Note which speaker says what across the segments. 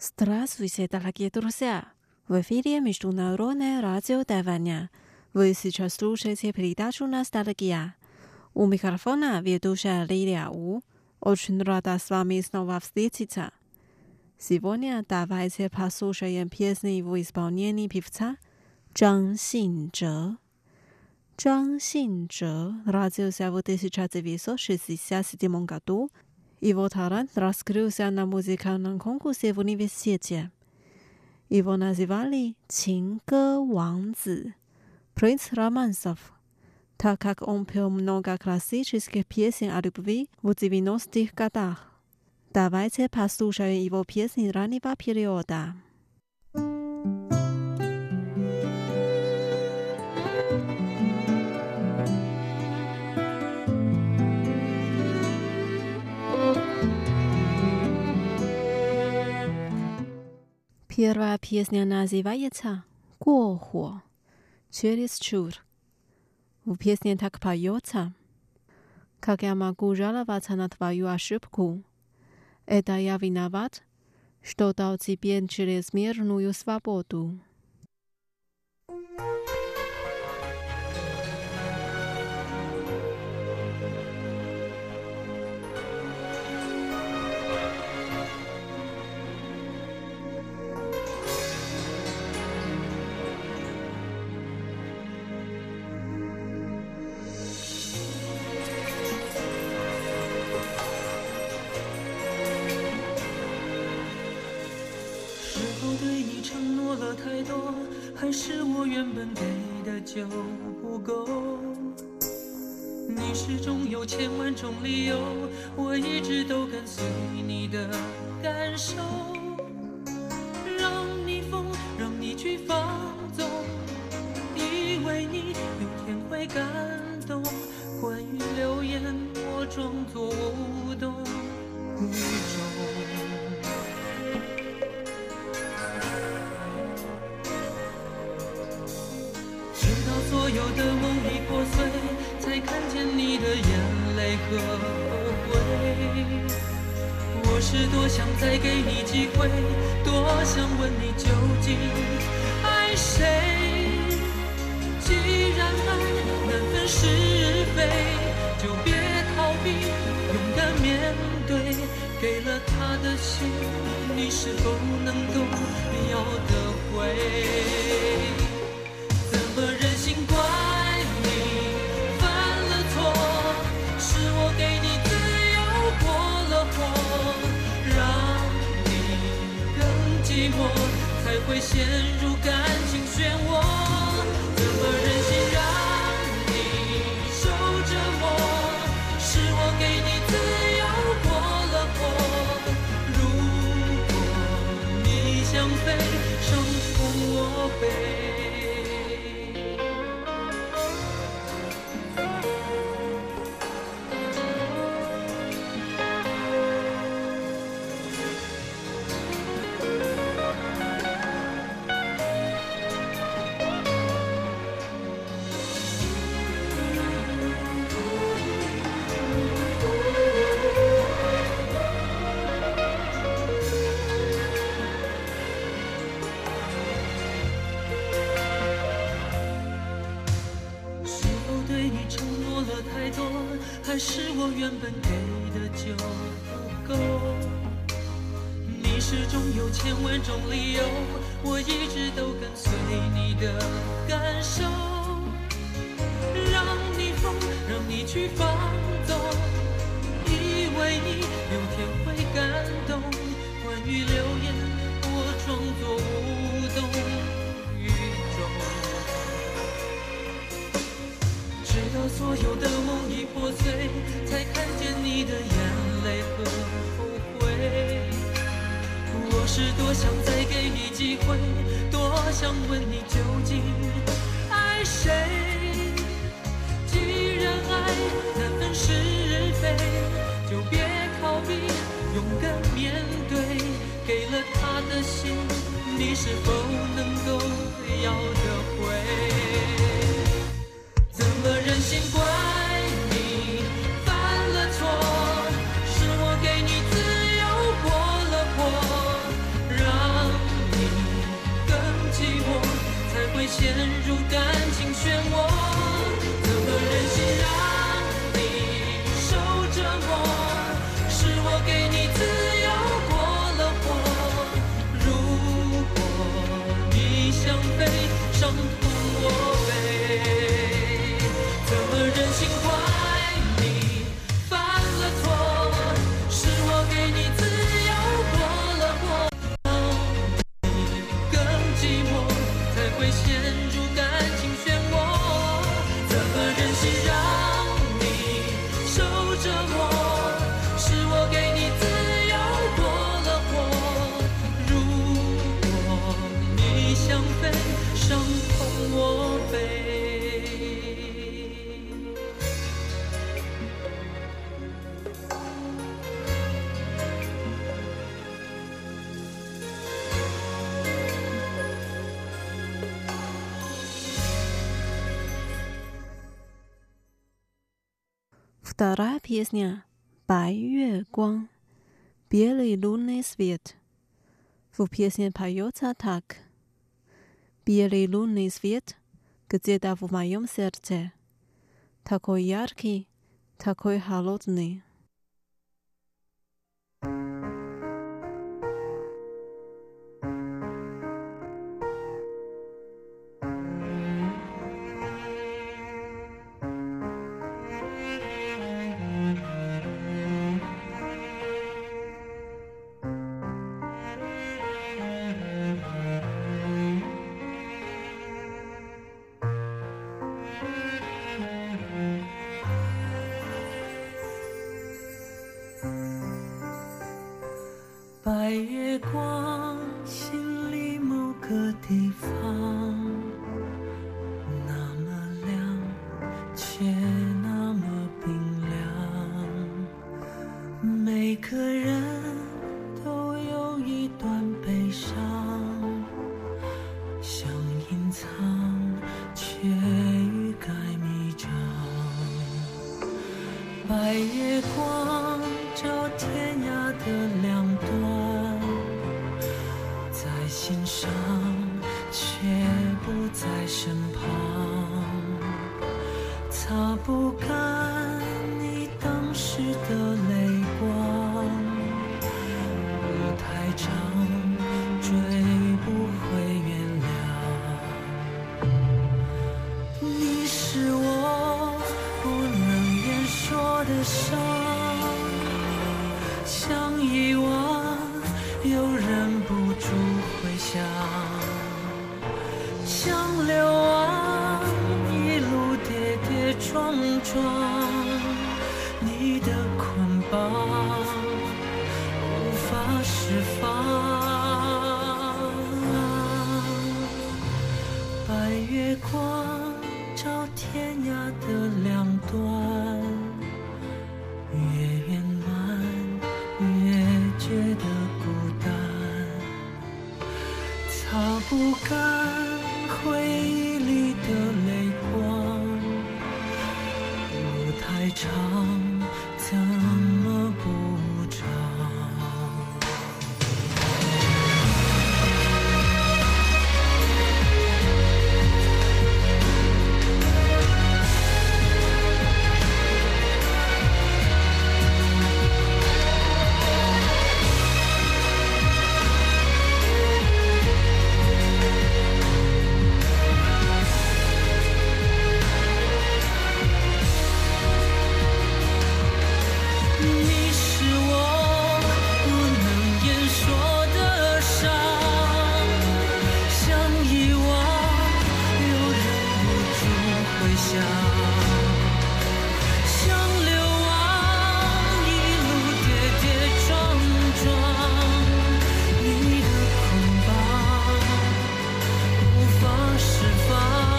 Speaker 1: Здравствуйте, дорогие друзья! В эфире Международное радио Тайваня. Вы сейчас слушаете передачу «Ностальгия». У микрофона ведущая Лилия У. Очень рада с вами снова встретиться. Сегодня давайте послушаем песни в исполнении певца Zhang Xinzhe. Zhang Xinzhe родился в 1967 году. Его талант раскрылся на музыкальном конкурсе в университете. Его называли «Чинге Вангзи» – «Принц романсов», так как он пел много классических песен о любви в 90-х годах. Давайте послушаем его песни раннего периода. Первая песня называется «过火» – «Чересчур». В песне так поется: «Как я могу жаловаться на твою ошибку? Это я виноват, что дал тебе чрезмерную свободу».
Speaker 2: 太多，还是我原本给的就不够。你始终有千万种理由，我一直都跟随你的感受，让你疯，让你去放纵，以为你有天会感动。关于流言，我装作无动于衷。所有的梦已破碎，才看见你的眼泪和后悔。我是多想再给你机会，多想问你究竟爱谁。既然爱难分是非，就别逃避，勇敢面对。给了他的心，你是否能够要得回？怎么忍心怪你犯了错？是我给你自由过了火，让你更寂寞，才会陷入感情漩涡。怎么忍心让你受折磨？是我给你自由过了火。如果你想飞，伤痛我背。还是我原本给的就不够？你始终有千万种理由，我一直都跟随你的感受，让你疯，让你去放纵，以为你有天会感动。关于流言，我装作无动于衷，直到所有的梦已破碎，才看见你的眼泪和后悔。我是多想再给你机会，多想问你究竟爱谁。既然爱难分是非，就别逃避，勇敢面对。给了他的心，你是否能够要得回？怎么忍心怪你犯了错？是我给你自由过了火，让心怪你犯了错，是我给你自由过了火，你更寂寞，才会陷入感情漩涡。怎么忍心让你受折磨？是我给你自由过了火。如果你想飞，伤痛我背。
Speaker 1: Вторая песня «白月光» «Белый лунный свет». В песне поется так. Белый лунный свет где-то в моем сердце. Такой яркий, такой холодный.
Speaker 2: 白月光，心里某个地方，那么亮，却那么冰凉。每个人都有一段悲伤，想隐藏，却欲盖弥彰。白月光照天涯的两端，在心上，却不在身旁，擦不干你当时的泪光。路太长，追不回原谅。你是我不能言说的伤，想遗忘又忍不住回想，像流亡一路跌跌撞撞，你的捆绑无法释放。白月光照天涯的两端，越圆满越觉得孤单，擦不干回忆里的泪光。路太长，怎么不长？你是我不能言说的伤，想遗忘又忍不住回想，像流亡一路跌跌撞撞，你的捆绑无法释放。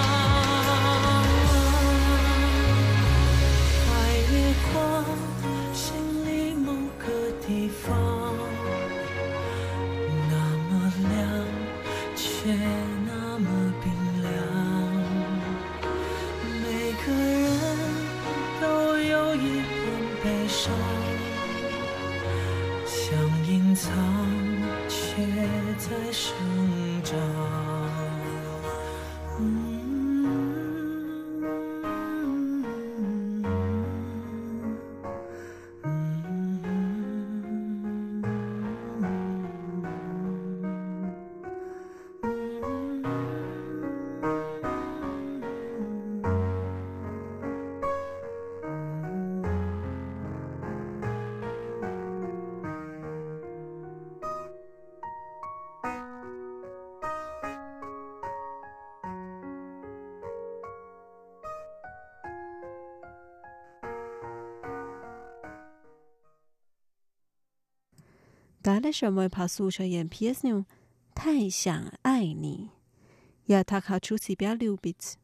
Speaker 2: 白月光，心里某个地方，那么亮，却那么冰凉。每个人都有一份悲伤，想隐藏，却在生长。
Speaker 1: Дальше мы послушаем песню «太想爱你». Я так хочу тебя любить.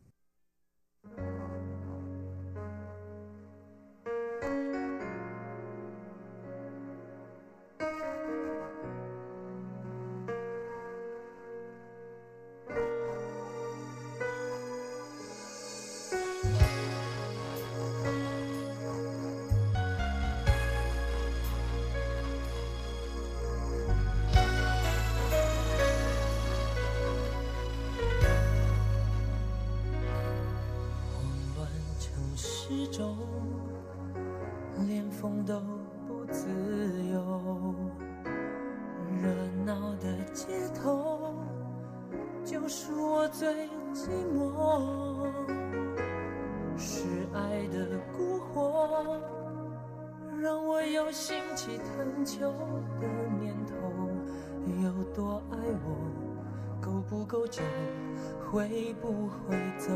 Speaker 2: 连风都不自由，热闹的街头就是我最寂寞，是爱的蛊惑，让我有兴起探求的念头。有多爱我，够不够久，会不会走？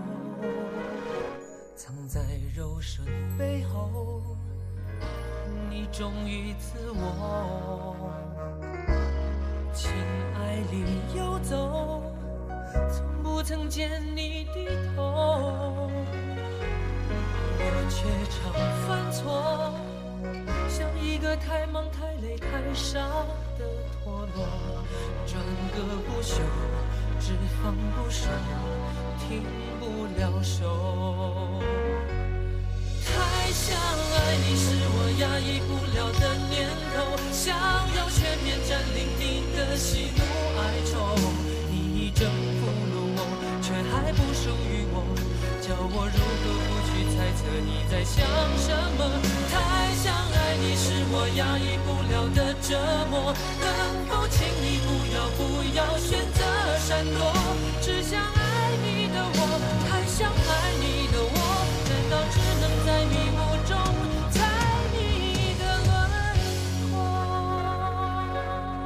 Speaker 2: 藏在柔顺背后，你忠于自我，情爱里游走，从不曾见你低头。我却常犯错，像一个太忙太累太傻的陀螺，转个不休，只放不收，停不了手。太想爱你是我压抑不了的念头，想要全面占领你的喜怒哀愁。你已征服了我，却还不属于我，叫我如何不去猜测你在想什么。太想爱你是我压抑不了的折磨，能否请你不要选择闪躲？只想爱你的我，太想爱你的我，难道只能在迷雾中猜你的轮廓？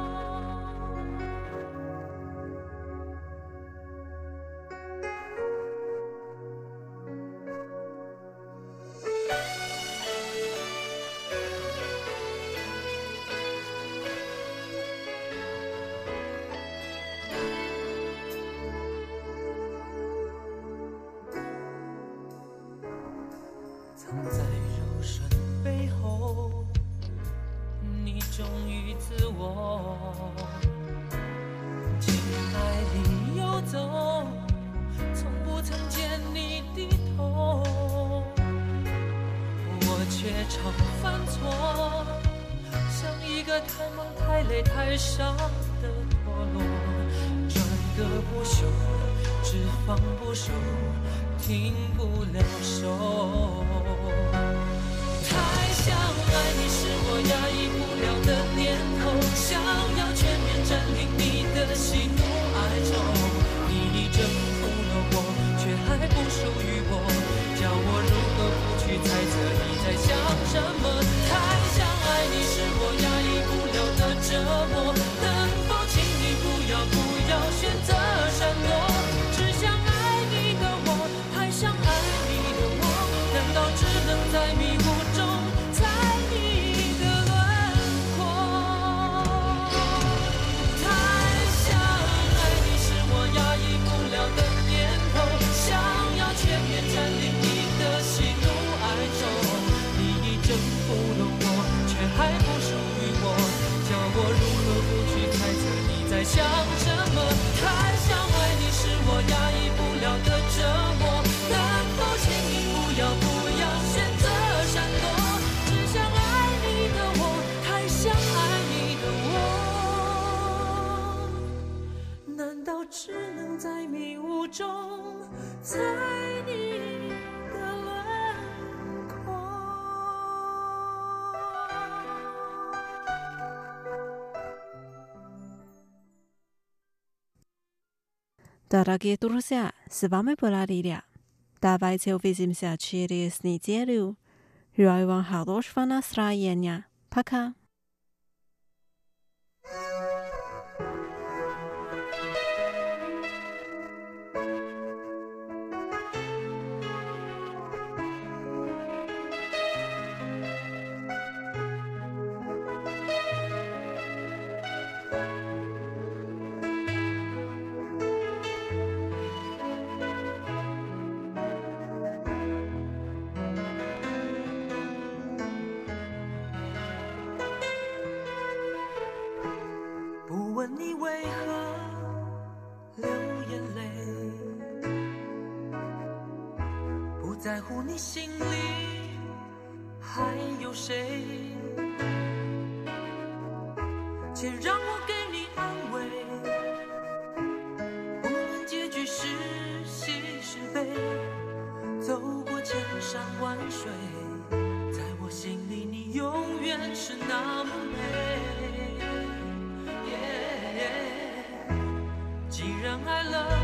Speaker 2: 藏在柔顺背后，你忠于自我，情爱里游走，从不曾见你低头。我却常犯错，像一个太忙太累太傻的陀螺，转个不休，只放不收，停不了手。太想爱你是我压抑不了的念头，想要全面占领你的喜怒哀愁。你已征服了我，却还不属于我，叫我如何不去猜测你在想什么。太想爱你是我压抑不了的折磨，能否请你不要选择闪躲？只想爱你的我，太想爱你的我，难道只能在迷雾中猜你的轮廓？太想爱你是我压抑不了的念头，想要全面占领你的喜怒哀愁。你已征服了我，却还不属于我，叫我如何不去猜测你在想什么。太想爱你是我压抑不了的折磨，能否请你不要选择闪躲？只想爱你的我，太想爱你的我，难道只能在迷雾中猜你的轮廓
Speaker 1: Дорогие друзья, с вами была Лилия. Давайте увидимся через неделю. Желаю вам хорошего настроения. Пока.
Speaker 2: 在乎你心里还有谁，且让我给你安慰，无论结局是喜是悲，走过千山万水，在我心里你永远是那么美。既然爱了